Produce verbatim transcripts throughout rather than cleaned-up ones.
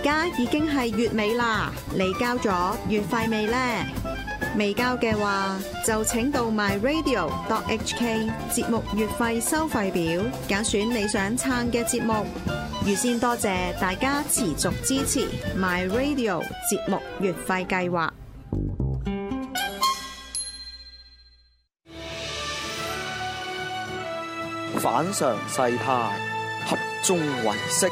家已經係月尾啦，你交咗月費未呢？未交嘅話，就請到 my radio dot h k 節目月費收費表，揀選你想撐嘅節目。預先多謝大家持續支持 my radio 節目月費計劃。 反常世態，合眾唯識。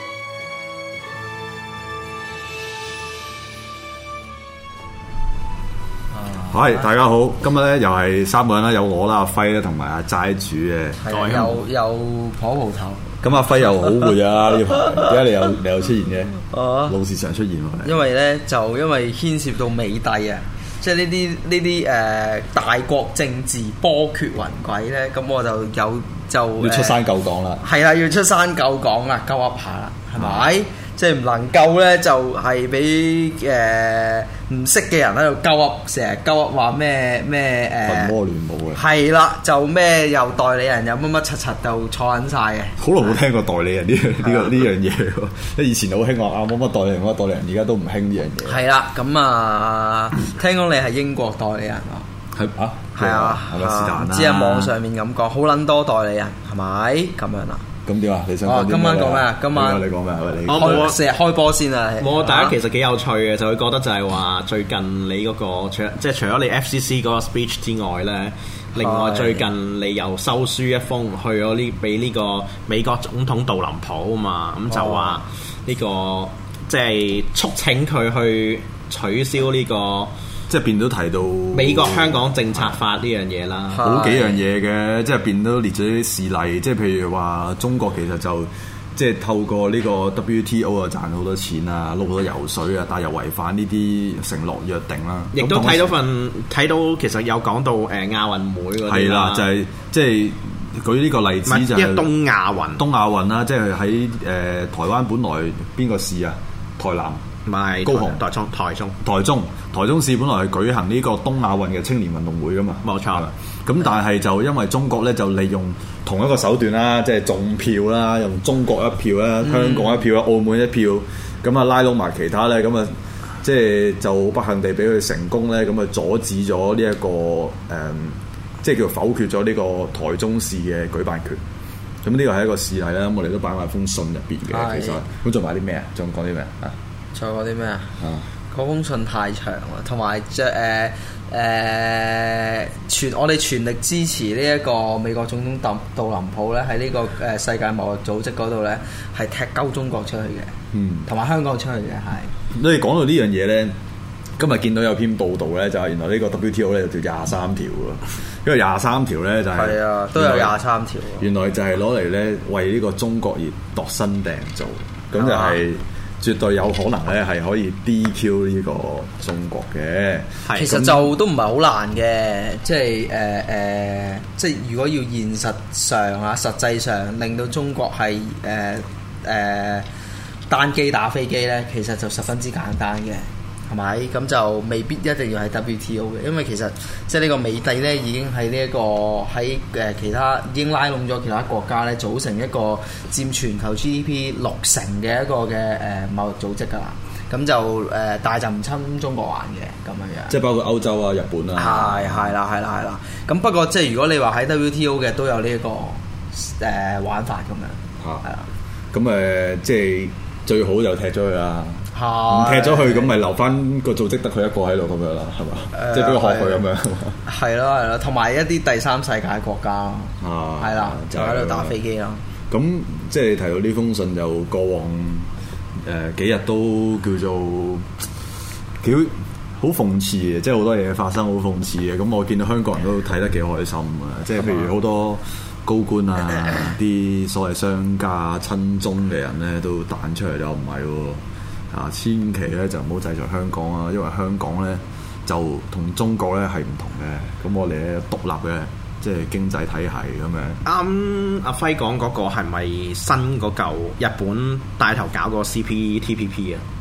係，大家好，今日咧又係三個人啦，有我啦，阿輝啦，同埋阿齋主嘅， 係有有婆蒲頭。 咁阿輝又好攰啊！呢排點解你又你又出現嘅？哦，老是常出現喎。 因為咧就因為牽涉到美帝啊，即係呢啲呢啲誒大國政治波譎雲詭咧，咁我就有就要出山救港啦。 係啦，要出山救港啦，救噏下啦，係咪？即係唔能夠咧，就係俾誒唔識嘅人喺度鳩噏，成日鳩噏話咩咩誒群魔亂舞嘅。 係啦，就咩又代理人又乜乜柒柒就坐緊晒嘅。 好耐冇聽過代理人呢呢個呢樣嘢喎，即係以前好興話啊乜乜代理人乜代理人，而家都唔興呢樣嘢。係啦，咁啊，聽講你係英國代理人喎。 係啊， 係啊， 係咪是但啦？ 只係網上面咁講，好撚多代理人係咪咁樣啦？ 咁點啊？你想講啲咩？ 今晚講咩啊？今晚你講咩啊？你開成日開波先啊！ 我大家其實幾有趣嘅，就會覺得就係話最近你嗰個除即係除咗你 F C C 嗰個 speech 之外咧，另外最近你又收書一封去咗呢俾呢個美國總統杜林普啊嘛，咁就話呢個即係促請佢去取消呢個。 即係變都提到美國香港政策法呢樣嘢啦， 好幾樣嘢嘅，即係變都列咗啲事例，即係譬如話中國其實就即係透過呢個 W T O 啊賺好多錢啊，撈好多油水啊，但係又違反呢啲承諾約定啦。 亦都睇到份睇到其實有講到誒亞運會嗰啲係啦，就係即係舉呢個例子就係東亞運， 東亞運啦，即係喺誒台灣本來邊個市啊？台南。 唔係高雄、 台中、台中、 台中、台中市本來係舉行呢個東亞運嘅青年運動會噶嘛， 冇錯。 咁但係就因為中國咧就利用同一個手段啦，即係種票啦，用中國一票啦、嗯、香港一票啦、澳門一票，咁啊拉攏埋其他咧，咁啊即係就不幸地俾佢成功咧，咁啊阻止咗呢一個誒、嗯，即係叫否決咗呢個台中市嘅舉辦權。咁呢個係一個事例啦，咁我哋都擺埋封信入邊嘅，其實咁仲買啲咩啊？仲講啲咩啊？ 仲有啲咩啊？嗰封信太長啦，同埋即係誒誒全我哋全力支持呢一個美國總統杜杜林普咧，喺呢個誒世界貿易組織嗰度咧係踢鳩中國出去嘅，嗯，同埋香港出去嘅係。 你哋講到呢樣嘢咧，今日見到有篇報道咧，就係原來呢個 W T O 咧就叫廿三條喎，因為廿三條咧就係係啊，都有廿三條。原來就係攞嚟咧為呢個中國而度身訂造，咁就係。絕對有可能咧，係可以 D Q 呢個中國嘅。 其實就都唔係好難嘅，即係誒誒，即係如果要現實上啊，實際上令到中國係誒誒單機打飛機咧，其實就十分之簡單嘅，係咪？咁就未必一定要係 W T O 嘅，因為其實即係呢個美帝咧已經喺呢一個喺誒其他已經拉攏咗其他國家咧，組成一個佔全球 G D P 六成嘅一個嘅誒貿易組織㗎啦。咁就誒，但係就唔侵中國玩嘅咁樣樣。 即係包括歐洲啊、日本啊。 係係啦係啦係啦。咁不過即係如果你話喺 W T O 嘅都有呢一個誒玩法咁樣。嚇係啦。咁誒，即係最好就踢咗佢啦。唔踢咗佢咁，咪留翻個組織得佢一個喺度咁樣啦，係嘛？呃、即係俾佢學佢咁樣。 係咯係咯，同埋一啲第三世界國家，係啦、啊，就喺度打飛機咯。 咁即係提到呢封信，就過往誒、呃、幾日都叫做幾好諷刺嘅，即係好多嘢發生好諷刺嘅。咁我見到香港人都睇得幾開心啊！即係譬如好多高官啊，啲所謂商家親中嘅人咧，都彈出嚟，又唔係喎。啊，千祈咧就唔好制裁香港啊，因為香港咧就同中國咧係唔同嘅，咁我哋咧獨立嘅即係經濟體系咁樣。 啱、嗯，阿輝講嗰個係咪新嗰嚿日本帶頭搞個 C P T P P 啊？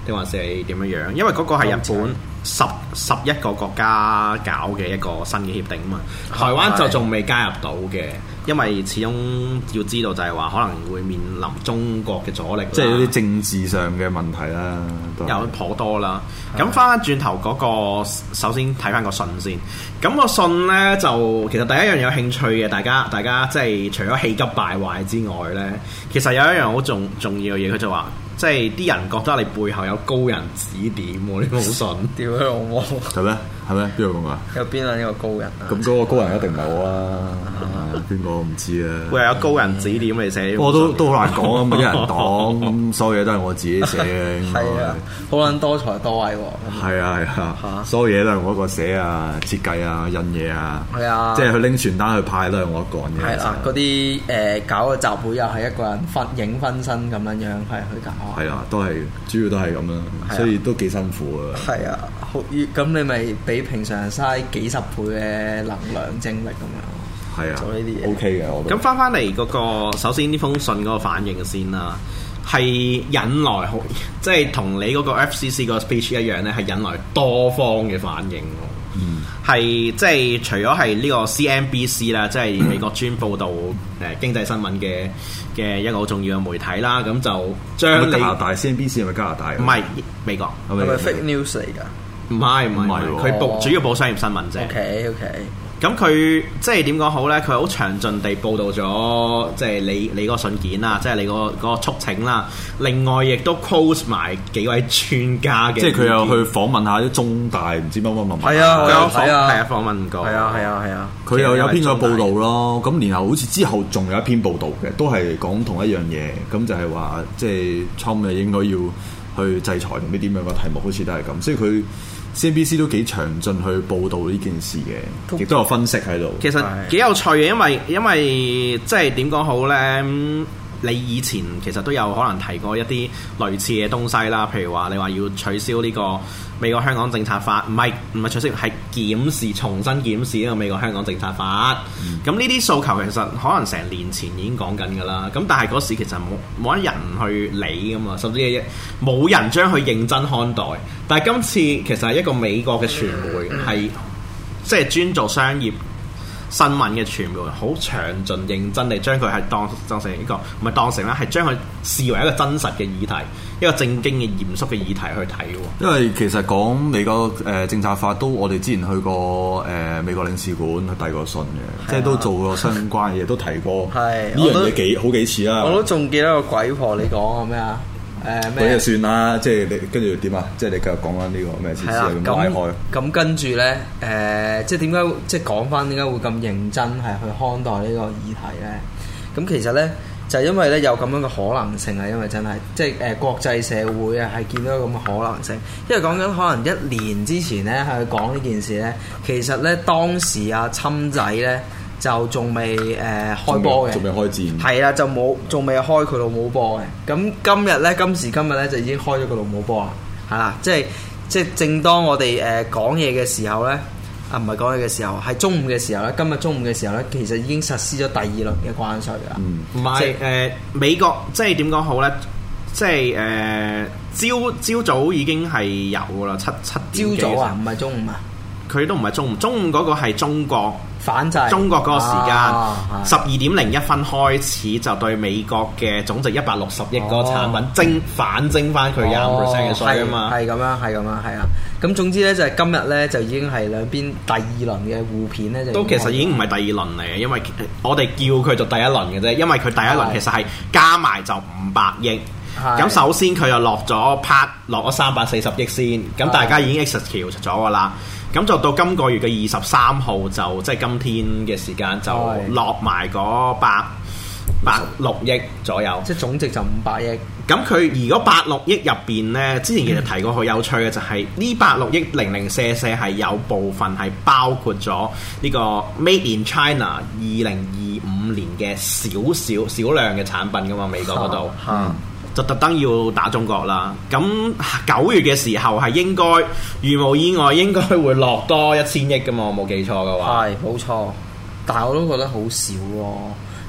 定還是係點樣樣？因為嗰個係日本十十一個國家搞嘅一個新嘅協定啊嘛，台灣就仲未加入到嘅，因為始終要知道就係話可能會面臨中國嘅阻力， 即係有啲政治上嘅問題啦， 有頗多啦。咁翻翻轉頭嗰個，首先睇翻個信先。咁個信呢，就其實第一樣有興趣嘅，大家大家即係除咗氣急敗壞之外呢，其實有一樣好重重要嘅嘢，佢就話。即係啲人覺得你背後有高人指點喎，呢個好信。 屌你老母！ 係咩？係咩？邊個講啊？ 有邊兩個高人啊？ 咁嗰個高人一定唔係我啦，邊個唔知啊？ 會有高人指點嚟寫。 我都都好難講啊！冇啲人講，咁所有嘢都係我自己寫嘅。 係啊，好撚多才多藝喎。 係啊係啊，所有嘢都係我一個寫啊、設計啊、印嘢啊。係啊，即係佢拎傳單去派都係我一個人嘅。 係啦，嗰啲誒搞個集會又係一個人分影分身咁樣樣係去搞。 係啊，都係主要都係咁啦，所以都幾辛苦啊。 係啊，好咁你咪比平常人嘥幾十倍嘅能量精力咁樣。 係啊， 做呢啲嘢 OK 嘅，我覺得。 咁翻翻嚟嗰個，首先呢封信嗰個反應先啦，係引來好，即係同你嗰個 F C C 個 speech 一樣咧，係引來多方嘅反應。嗯，係即係除咗係呢個 C N B C 啦，即係美國專報導誒經濟新聞嘅嘅一個好重要嘅媒體啦，咁就將加拿大 C N B C 係咪加拿大？ 唔係美國， 係咪 fake news 嚟㗎？ 唔係唔係，佢報主要報商業新聞啫。 OK OK。 咁佢即係點講好咧？佢好詳盡地報導咗，即係你你嗰個信件啦，即係你嗰個嗰個促請啦。另外亦都 quote 埋幾位專家嘅， 即係佢又去訪問下啲中大唔知乜乜乜乜。 係啊， 佢有訪係啊， 係啊訪問過。 係啊係啊係啊。 佢又有篇個報導咯。咁然後好似之後仲有一篇報導嘅，都係講同一樣嘢。咁就係話，即係 Trump 嘅應該要去制裁同啲點樣嘅題目，好似都係咁。所以佢。C N B C 都幾詳盡去報導呢件事嘅，亦都有分析喺度。 其實幾有趣嘅，因為因為即係點講好呢？你以前其實都有可能提過一啲類似嘅東西啦，譬如話你話要取消呢個美國香港政策法，唔係唔係取消，係檢視重新檢視呢個美國香港政策法。咁呢啲訴求其實可能成年前已經講緊㗎啦。咁但係嗰時其實冇冇一人去理㗎嘛，甚至係冇人將佢認真看待。但係今次其實係一個美國嘅傳媒係即係專做商業新聞嘅傳媒，好詳盡認真地將佢係當當成一個唔係當成啦，係將佢視為一個真實嘅議題，一個正經嘅嚴肅嘅議題去睇喎。因為其實講美國誒、呃、政策法都，我哋之前去過誒、呃、美國領事館去遞過信嘅，即係都做過相關嘅嘢，都提過呢樣嘢幾好幾次啦。 我都仲記得個鬼婆你講嘅咩啊？誒咩？ 嗰就算啦，即係你跟住點啊？即係你繼續講翻呢個咩事啊？咁拉開。 咁跟住咧，誒、呃，即係點解即係講翻點解會咁認真係去看待呢個議題咧？咁其實咧就係、因為咧有咁樣嘅可能性啊，因為真係即係誒、呃、國際社會啊係見到咁嘅可能性，因為講緊可能一年之前咧係去講呢件事咧，其實咧當時阿侵仔咧。就仲未誒開波嘅， 仲未開戰， 係啦，就冇仲未開佢老母波嘅。咁今日咧，今時今日咧就已經開咗佢老母波啦，係啦，即係即係正當我哋誒講嘢嘅時候咧，啊唔係講嘢嘅時候，係中午嘅時候咧，今日中午嘅時候咧，其實已經實施咗第二輪嘅關稅啦。 唔係誒美國即係點講好咧？即係誒朝朝早已經係有噶啦，七七點幾朝早啊，唔係中午啊。 佢都唔係中午，中午嗰個係中國反制， 中國嗰個時間十二點零一分開始就對美國嘅總值一百六十億嗰個產品徵、哦、反徵翻佢廿五 percent 嘅稅啊嘛， 係咁樣，係咁樣，係啊。咁總之咧就係今日咧就已經係兩邊第二輪嘅互片咧就都其實已經唔係第二輪嚟嘅，因為我哋叫佢做第一輪嘅啫，因為佢第一輪其實係加埋就五百億。咁首先佢又落咗 part 落咗三百四十億先，咁大家已經 execute 咗㗎啦。咁就到今個月嘅二十三號就即係今天嘅時間就落埋嗰百百六億左右， 即係總值就五百億。 咁佢如果百六億入邊呢，之前其實提過好有趣嘅就係呢百六億零零舍舍係有部分係包括咗呢個 Made in China 二零二五年嘅少少少量嘅產品噶嘛，美國嗰度。嗯就特登要打中國啦，咁九月嘅時候係應該如無意外應該會落多一千億噶嘛，我冇記錯嘅話。 係冇錯，但係我都覺得好少喎、哦，即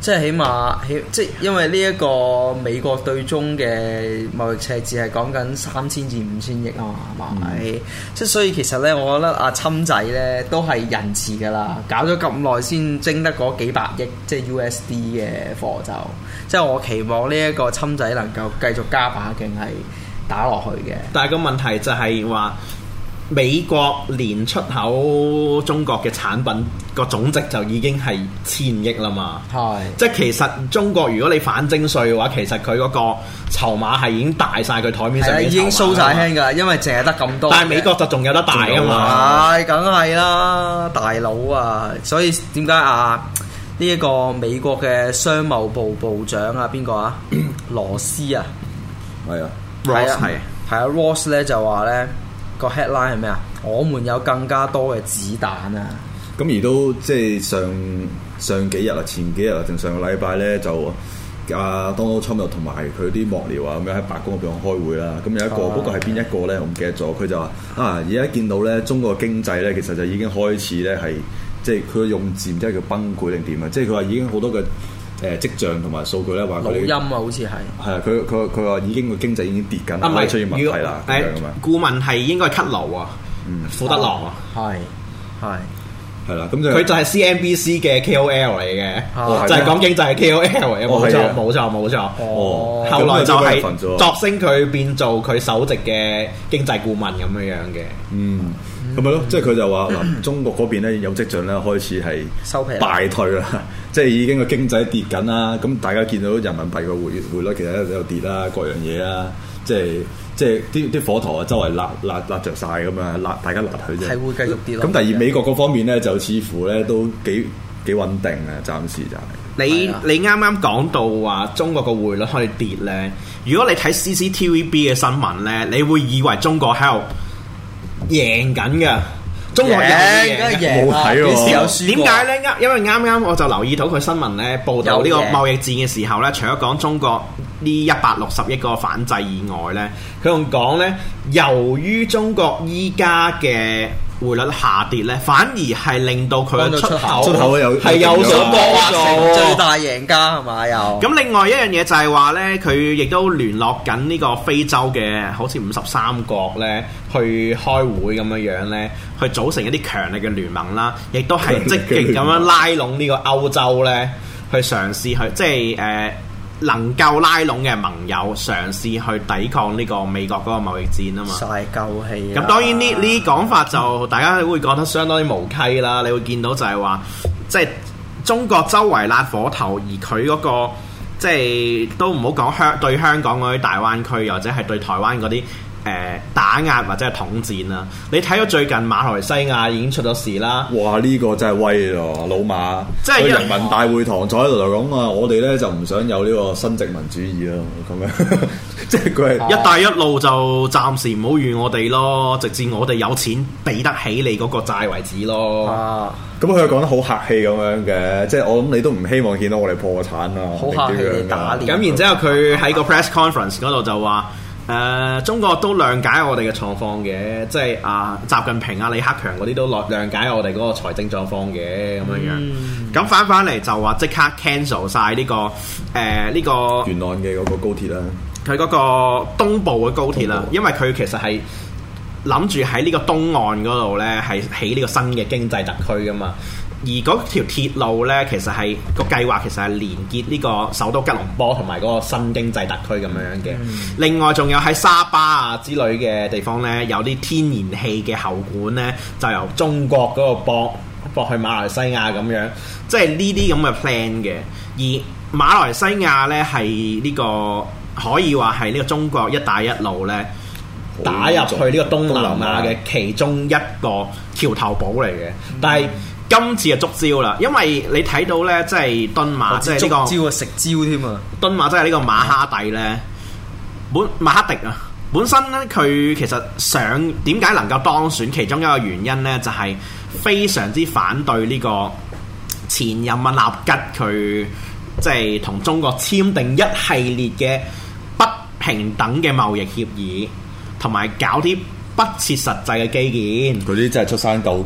即係起碼起即係因為呢一個美國對中嘅貿易赤字係講緊三千至五千億啊嘛，係咪？即係所以其實咧，我覺得阿侵仔咧都係仁慈㗎啦，搞咗咁耐先徵得嗰幾百億即係 U S D 嘅貨就，即係我期望呢一個侵仔能夠繼續加把勁係打落去嘅。但係個問題就係話。美國年出口中國嘅產品個總值就已經係千億啦嘛，係即係其實中國如果你反徵稅嘅話，其實佢嗰個籌碼係已經大晒佢台面上嘅籌碼，已經掃晒輕㗎，因為淨係得咁多。但係美國就仲有得大㗎嘛，係梗係啦，大佬啊！所以點解啊呢一個美國嘅商務部部長啊邊個啊羅斯啊係啊 Ross 係係啊 Ross 咧就話咧。個 headline 係咩啊？我們有更加多嘅子彈啊！ 咁而都即係上上幾日啊，前幾日啊，定上個禮拜咧就阿 Donald Trump 又同埋佢啲幕僚啊咁樣喺白宮嗰邊開會啦。咁有一個嗰、啊、個係邊一個咧？我唔記得咗。佢就話啊，而家見到咧中國經濟咧，其實就已經開始咧係即係佢用字唔知係叫崩潰定點啊！即係佢話已經好多嘅。誒跡象同埋數據咧話佢，錄音啊，好似係係啊，佢佢佢話已經個經濟已經跌緊，啊，唔係出現問題啦。誒、呃，顧問係應該係 Kudlow啊，嗯，富德郎啊，係係係啦，咁就佢就係 C N B C 嘅 K O L 嚟嘅，哦、就係講經濟嘅 K O L 嚟嘅，冇錯冇錯冇錯。哦，後來就係作聲佢變做佢首席嘅經濟顧問咁樣樣嘅，嗯。咁咪咯，即係佢就話嗱，中國嗰邊咧有跡象咧開始係收皮敗退啦，即係已經個經濟跌緊啦。咁大家見到人民幣個匯匯率其實喺度跌啦，各樣嘢啦，即係即係啲啲火頭啊，周圍焫焫焫著曬咁啊，焫大家焫佢啫。係會繼續跌咯。咁第二美國嗰方面咧就似乎咧都幾幾穩定啊，暫時就係、是。你你啱啱講到話中國個匯率可以跌咧，如果你睇 C C T V B 嘅新聞咧，你會以為中國喺度贏緊嘅，中國贏，冇睇喎。點解咧？啱因為啱啱我就留意到佢新聞咧報導呢個貿易戰嘅時候咧，除咗講中國呢一百六十億個反制以外咧，佢仲講咧，由於中國依家嘅匯率下跌咧，反而係令到佢嘅出口出口有係有所幫助，最大贏家係嘛？又咁另外一樣嘢就係話咧，佢亦都聯絡緊呢個非洲嘅好似五十三國咧，去開會咁樣樣咧，去組成一啲強力嘅聯盟啦，亦都係積極咁樣拉攏呢個歐洲咧，去嘗試去即係誒。呃能夠拉攏嘅盟友嘗試去抵抗呢個美國嗰個貿易戰啊嘛，曬夠氣。咁當然呢呢啲講法就大家會覺得相當之無稽啦。你會見到就係話，即係中國周圍焫火頭，而佢嗰個即係都唔好講香對香港嗰啲大灣區，或者係對台灣嗰啲。誒打壓或者係統戰啦！你睇到最近馬來西亞已經出咗事啦！哇！呢、這個真係威咯，老馬！即係人民大會堂坐喺度就講啊，我哋咧就唔想有呢個新殖民主義咯，咁樣即係佢係一帶一路就暫時唔好預我哋咯，直至我哋有錢俾得起你嗰個債為止咯。啊！咁佢又講得好客氣咁樣嘅，即係我諗你都唔希望見到我哋破產啊！好客氣地打臉。咁然之後佢喺個 press conference 嗰度就話。誒、呃，中國都諒解我哋嘅狀況嘅，即係啊，習近平啊、李克強嗰啲都諒解我哋嗰個財政狀況嘅咁樣樣。咁翻翻嚟就話即刻 cancel 晒呢、這個誒呢、呃這個沿岸嘅嗰個高鐵啦，佢嗰個東部嘅高鐵啦，因為佢其實係諗住喺呢個東岸嗰度咧係起呢個新嘅經濟特區噶嘛。而嗰條鐵路咧，其實係個計劃，其實係連結呢個首都吉隆坡同埋嗰個新經濟特區咁樣嘅。嗯、另外，仲有喺沙巴啊之類嘅地方咧，有啲天然氣嘅喉管咧，就由中國嗰個駁駁去馬來西亞咁樣，即係呢啲咁嘅 plan 嘅。而馬來西亞咧係呢個可以話係呢個中國一帶一路咧打入去呢個東南亞嘅其中一個橋頭堡嚟嘅，嗯、但係。今次就捉招啦，因為你睇到咧，即係敦馬，即係呢個招啊食招添啊！敦馬即係呢個馬哈蒂咧，本馬哈迪啊，本身咧佢其實想點解能夠當選，其中一個原因咧就係、是、非常之反對呢個前任啊納吉佢即係同中國簽訂一系列嘅不平等嘅貿易協議，同埋搞啲不切實際嘅基建。嗰啲真係出山鬥。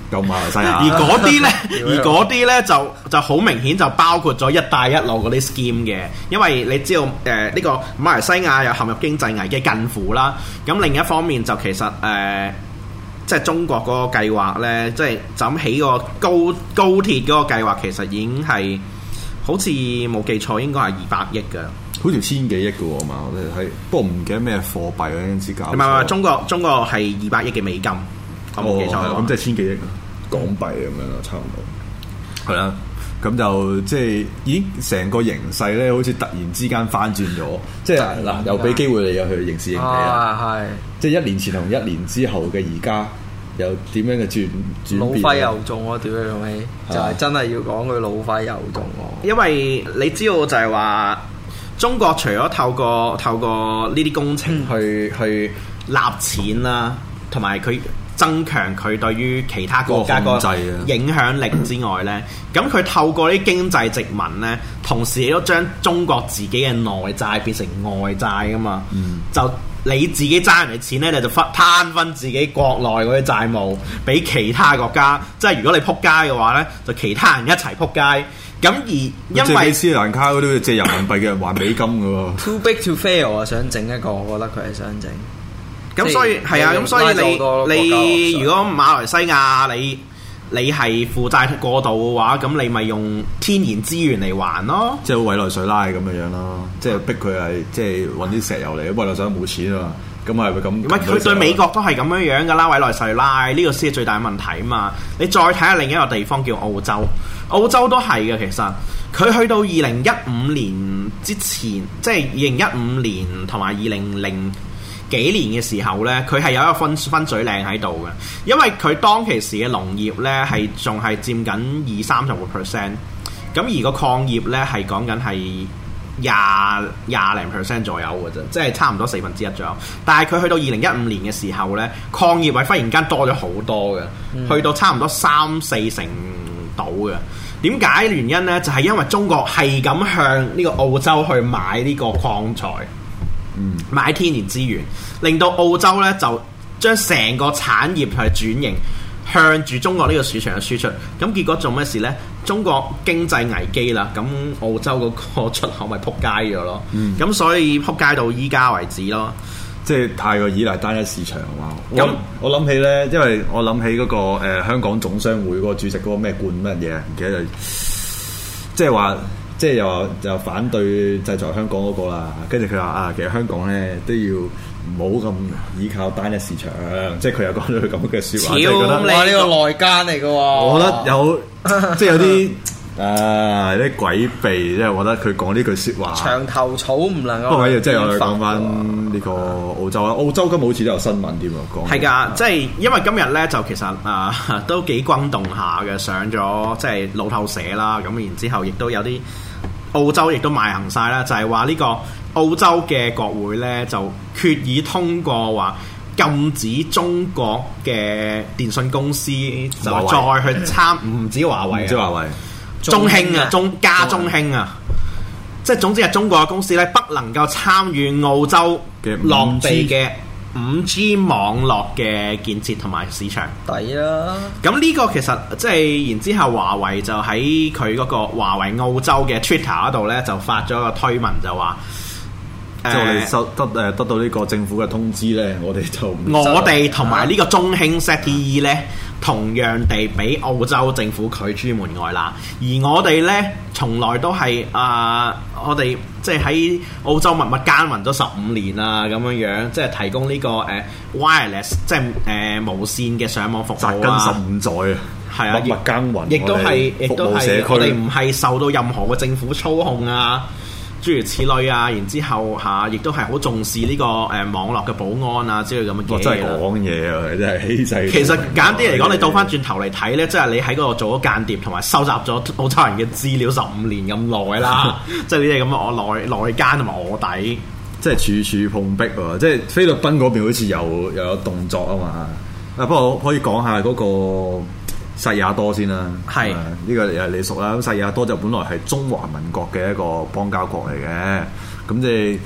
夠馬來西亞。 而嗰啲咧，而嗰啲咧就就好明顯就包括咗一帶一路嗰啲 scheme 嘅，因為你知道誒呢、呃呢個馬來西亞又陷入經濟危機近乎啦。咁另一方面就其實誒。呃即係中國嗰個計劃呢，即係就咁起個高高鐵嗰個計劃，其實已經係好似冇記錯，應該係二百億㗎。 好似千幾億嘅喎嘛，我哋睇，不過唔記得咩貨幣嗰陣時搞。 唔係唔係，中國中國係二百億嘅美金，我冇記錯。 咁、哦、即係千幾億港幣咁樣咯，差唔多。係啦，咁就即係已經成個形勢咧，好似突然之間翻轉咗。即係嗱，又俾機會你又去刑事刑期啦。係、啊，即係一年前同一年之後嘅而家。有點樣嘅轉轉變？ 老揮又中喎，屌你老味！就係真係要講佢老揮又中喎。 因為你知道就係話，中國除咗透過透過呢啲工程去、嗯、去納錢啦，同埋佢增強佢對於其他國家個影響力之外呢，咁佢透過啲經濟殖民呢，同時亦都將中國自己嘅內債變成外債噶嘛，嗯、就。你自己爭人哋錢咧，你就分攤分自己國內嗰啲債務俾其他國家。即係如果你撲街嘅話咧，就其他人一齊撲街。咁而因為斯里蘭卡嗰啲借人民幣嘅人還美金嘅喎。 Too big to fail 啊！想整一個，我覺得佢係想整。 咁所以係啊，咁所以你你如果馬來西亞你你係負債過度嘅話，咁你咪用天然資源嚟還咯， 即係委內瑞拉咁嘅樣咯，即係逼佢係即係揾啲石油嚟，委內瑞拉冇錢啊嘛，咁係咪咁？ 唔係佢對美國都係咁樣樣噶啦，委內瑞拉呢個先係最大問題啊嘛！你再睇下另一個地方叫澳洲，澳洲都係嘅，其實佢去到二零一五年之前，即係二零一五年同埋二零零幾年嘅時候呢，佢係有一個分分水嶺喺度嘅，因為佢當其時嘅農業呢係仲係佔緊二三十個 percent，咁而個礦業呢係講緊係廿廿零 percent 左右嘅啫，即係差唔多四分之一左右。但係佢去到二零一五年嘅時候呢，礦業係忽然間多咗好多嘅，嗯、去到差唔多三四成到嘅。點解原因呢？就係、是、因為中國係咁向呢個澳洲去買呢個礦材。嗯、買天然資源，令到澳洲咧就將成個產業係轉型向住中國呢個市場嘅輸出。咁結果做咩事呢？中國經濟危機啦，咁澳洲嗰個出口咪撲街咗咯。咁、嗯、所以撲街到依家為止咯。 即係太過依賴單一市場啊嘛。咁我諗起呢，因為我諗起嗰、嗰個、呃、香港總商會嗰個主席嗰個咩冠乜嘢，唔記得咗。即係話。即係又話又反對制裁香港嗰個啦，跟住佢話啊，其實香港咧都要唔好咁依靠單一市場，即係佢又講咗佢咁嘅説話，即係覺得哇呢個內奸嚟嘅喎。 我覺得有即係有啲啊啲詭秘，即係我覺得佢講呢句説話。 牆頭草唔能夠。 不過即係我哋講翻呢個澳洲啦，澳洲今日好似都有新聞添喎，講係㗎，即係因為今日咧就其實啊、呃、都幾轟動下嘅，上咗即係路透社啦，咁然之後亦都有啲。澳洲亦都賣行晒啦，就係話呢個澳洲嘅國會呢，就決議通過話禁止中國嘅電信公司就再去參，唔止華為， 唔止華為， 中興啊，中加中興啊，即係總之係中國嘅公司呢，不能夠參與澳洲落地嘅五 G 網絡嘅建設同埋市場， 抵啦！ 咁呢個其實即係然之後，華為就喺佢嗰個華為澳洲嘅 Twitter 嗰度咧，就發咗個推文就話， 即係我哋收得誒得到呢個政府嘅通知咧，我哋就我哋同埋呢個中興 Z T E 咧，同樣地俾澳洲政府拒諸門外啦。而我哋咧，從來都係啊、呃，我哋即係喺澳洲默默耕耘咗十五年啦，咁樣樣即係提供呢、這個誒、呃、wireless，即係誒、呃、無線嘅上網服務啊， 紮根十五載啊，係啊，默默耕耘， 亦都係，亦都係，我哋唔係受到任何嘅政府操控啊。諸如此類啊，然之後嚇，亦都係好重視呢、這個誒、呃、網絡嘅保安啊之類咁嘅嘢。 我真係講嘢啊，真係欺世。 其實簡單啲嚟講，你倒翻轉頭嚟睇咧，即係你喺嗰度做咗間諜，同埋收集咗澳洲人嘅資料十五年咁耐啦。即係呢啲咁嘅我內內奸同埋臥底， 即係處處碰壁喎。即係菲律賓嗰邊好似又又有動作啊嘛。啊，不過可以講下嗰、那個。薩爾瓦多先啦，係呢是、呃這個又係你熟啦。咁薩爾瓦多就本來係中華民國嘅一個邦交國嚟嘅，咁即係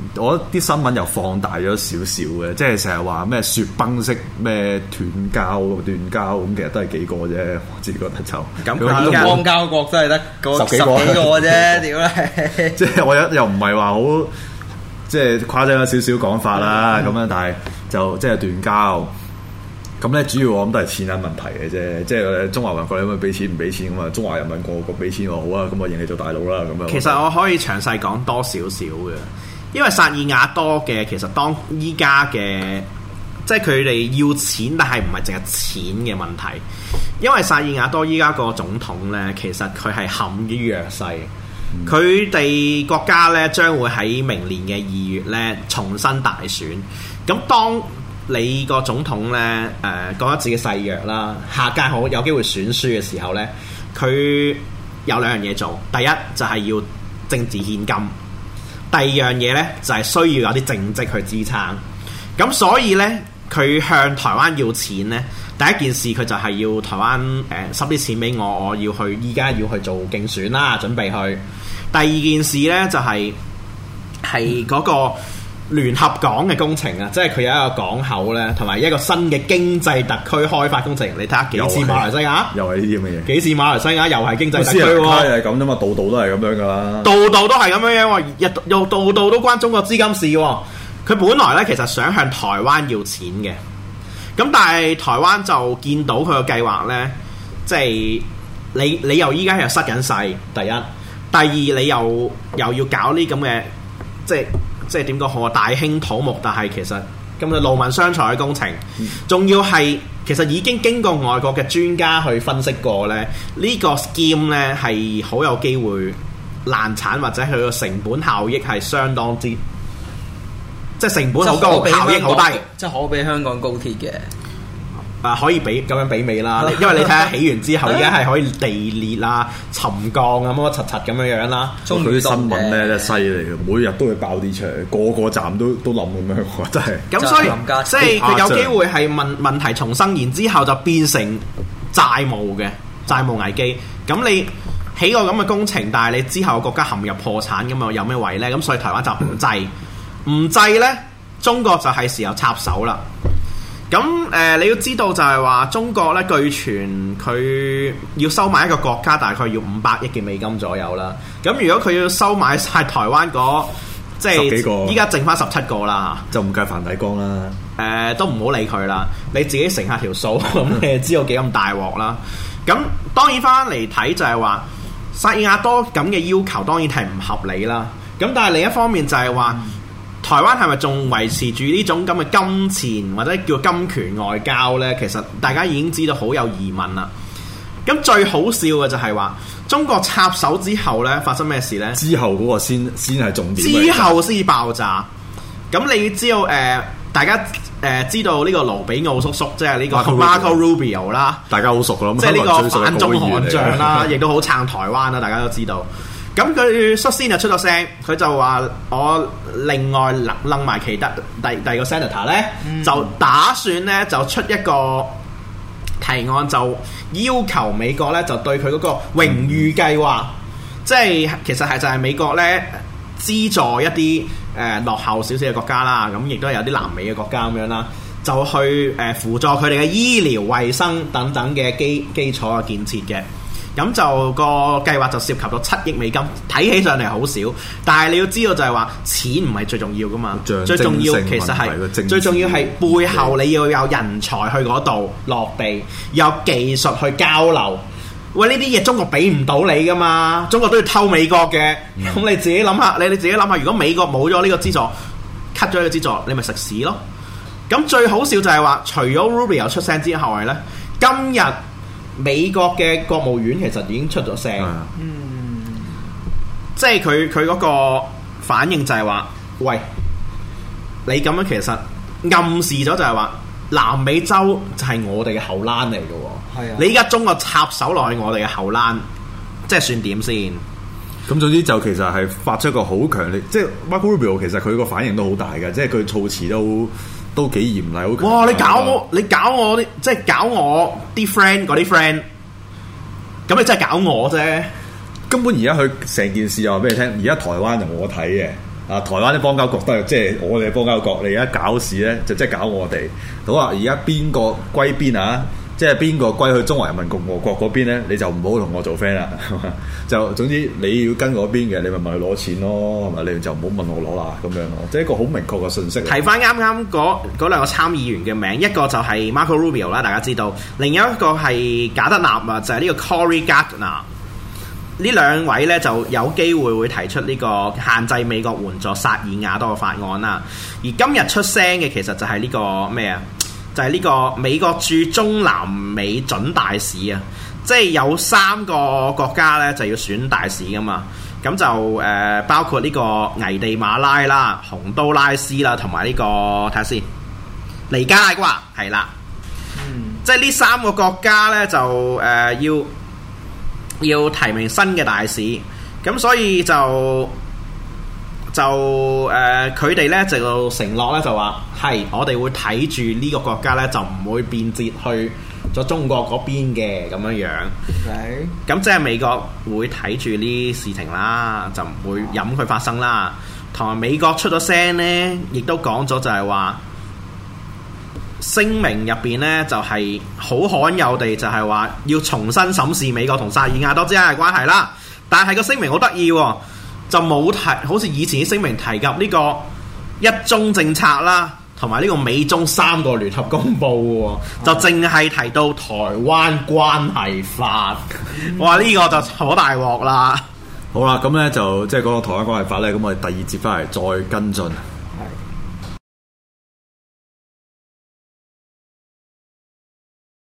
我覺得啲新聞又放大咗少少嘅，即係成日話咩雪崩式咩斷交斷交咁，其實都係幾個啫，我自己覺得就咁佢邦交國都係得十幾個啫，屌你！ 即係我又又唔係話好即係誇張咗少少講法啦，咁樣、嗯、但係就即係斷交。咁咧主要我諗都係錢銀問題嘅啫，即係中華民國你咪俾錢唔俾錢咁啊？中華人民共和國俾錢我好啊，咁我認你做大佬啦咁樣。 其實我可以詳細講多少少嘅，因為薩爾瓦多嘅其實當依家嘅即係佢哋要錢，但係唔係淨係錢嘅問題。因為薩爾瓦多依家個總統咧，其實佢係陷於弱勢，佢哋、嗯、國家咧將會喺明年嘅二月咧重新大選。咁當你個總統咧，誒、呃、覺得自己勢弱啦，下屆好有機會選輸嘅時候咧，佢有兩樣嘢做。第一就係、是、要政治獻金，第二樣嘢咧就係、是、需要有啲政績去支撐。咁所以咧，佢向台灣要錢咧，第一件事佢就係要台灣誒收啲錢俾我，我要去依家要去做競選啦，準備去。第二件事咧就係係嗰個聯合港嘅工程啊，即係佢有一個港口咧，同埋一個新嘅經濟特區開發工程。你睇下幾似馬來西亞？ 又係呢啲咁嘅嘢。幾似馬來西亞？又係經濟特區喎。 又係咁啫嘛，度度都係咁樣噶啦。 度度都係咁樣樣喎，日又度度都關中國資金事喎。佢本來咧其實想向台灣要錢嘅，咁但係台灣就見到佢個計劃咧，即係你你又依家又失緊勢，第一，第二你又又要搞呢咁嘅即係。即係點講好啊？大興土木，但係其實咁嘅勞民傷財嘅工程，仲、嗯、要係其實已經經過外國嘅專家去分析過咧，呢、呢個 scheme 咧係好有機會爛產，或者佢個成本效益係相當之，即係成本好高，效益好低， 即係可比香港高鐵嘅。 啊，可以比咁樣媲美啦，因為你睇下起完之後，而家係可以地裂啊、沉降啊、乜乜柒柒咁樣樣啦。 佢啲新聞咧真係犀利嘅，每日都會爆啲出嚟，個個站都都冧咁樣，真係。 咁所以即係佢有機會係問問題重生，然之後就變成債務嘅債務危機。咁你起個咁嘅工程，但係你之後國家陷入破產咁啊，有咩位咧？咁所以台灣就唔制，唔制咧，中國就係時候插手啦。咁誒、呃，你要知道就係話中國咧，據傳佢要收買一個國家，大概要五百億嘅美金左右啦。咁如果佢要收買晒台灣嗰即係依家剩翻十七個啦， 就唔計梵蒂岡啦。誒、 呃，都唔好理佢啦，你自己乘下條數，咁你就知道幾咁大鑊啦。咁當然翻嚟睇就係話薩爾瓦多咁嘅要求，當然係唔合理啦。咁但係另一方面就係話。嗯台灣係咪仲維持住呢種咁嘅金錢或者叫金權外交呢？其實大家已經知道好有疑問啦。咁最好笑嘅就係話中國插手之後呢，發生咩事呢？ 之後嗰個先先係重點。 之後先爆炸。咁你知道誒、呃？大家誒、呃、知道呢個盧比奧叔叔，即係呢個 Marco Rubio 啦， 大家好熟㗎啦。 即係呢個反中悍將啦，亦都好撐台灣啦，大家都知道。咁佢率先就出咗聲，佢就話我另外擸擸埋其他第第二個 senator 咧，嗯、就打算咧就出一個提案，就要求美國咧就對佢嗰個榮譽計劃，嗯、即係其實係就係美國咧資助一啲誒、呃、落後少少嘅國家啦，咁亦都有啲南美嘅國家咁樣啦，就去誒、呃、輔助佢哋嘅醫療衛生等等嘅基基礎嘅建設嘅。咁就個計劃就涉及到七億美金，睇起上嚟好少，但係你要知道就係話錢唔係最重要噶嘛，最重要其實係最重要係背後你要有人才去嗰度落地，有技術去交流。喂，呢啲嘢中國俾唔到你噶嘛，中國都要偷美國嘅，咁、嗯、你自己諗下，你你自己諗下，如果美國冇咗呢個資助 cut 咗呢個資助，你咪食屎咯。咁最好笑就係話，除咗 Rubio 出聲之後咧，今日美國嘅國務院其實已經出咗聲，嗯，即係佢佢嗰個反應就係話，喂，你咁樣其實暗示咗就係話，南美洲就係我哋嘅後欄嚟嘅喎，係啊，你依家中國插手落去我哋嘅後欄，即係算點先？ 咁總之就其實係發出一個好強烈，即係 Marco Rubio 其實佢個反應都好大嘅，即係佢措辭都。都幾嚴厲，好強！哇！ 你搞我，你搞我啲，即係搞我啲 friend 嗰啲 friend，咁你真係搞我啫！ 根本而家佢成件事又話俾你聽，而家台灣就我睇嘅， 啊，台灣啲邦交國都係即係我哋嘅邦交國，你而家搞事咧就即係搞我哋。好啊，而家邊個歸邊啊？即係邊個歸去中華人民共和國嗰邊咧？你就唔好同我做 friend 啦。就總之你要跟嗰邊嘅，你咪問佢攞錢咯，係咪？你就唔好問我攞啦，咁樣咯。即係一個好明確嘅信息。 提翻啱啱嗰嗰兩個參議員嘅名，一個就係 Marco Rubio 啦，大家知道；另一個係賈德納啊，就係、是、呢個 Cory Gardner。呢兩位咧就有機會會提出呢個限制美國援助薩爾瓦多嘅法案啦。而今日出聲嘅其實就係呢個咩啊？就係、是、呢個美國駐中南美準大使啊，即係有三個國家咧就要選大使噶嘛。咁就誒、呃、包括呢個危地馬拉啦、洪都拉斯啦，同埋呢個睇下先，尼加拉瓜係啦。嗯，即係呢三個國家咧就誒、呃、要要提名新嘅大使，咁所以就。就誒佢哋咧就承諾咧就話係我哋會睇住呢個國家咧就唔會變節去咗中國嗰邊嘅咁樣樣。係。咁即係美國會睇住呢事情啦，就唔會任佢發生啦。同埋美國出咗聲咧，亦都講咗就係話聲明入邊咧就係、是、好罕有地就係話要重新審視美國同薩爾瓦多之間嘅關係啦。但係個聲明好得意喎。就冇提，好似以前啲聲明提及呢個一中政策啦，同埋呢個美中三個聯合公佈喎，就淨係提到台灣關係法。哇！呢、這個就好大鑊啦。 好啦，咁咧就即係講到台灣關係法咧，咁我哋第二節翻嚟再跟進。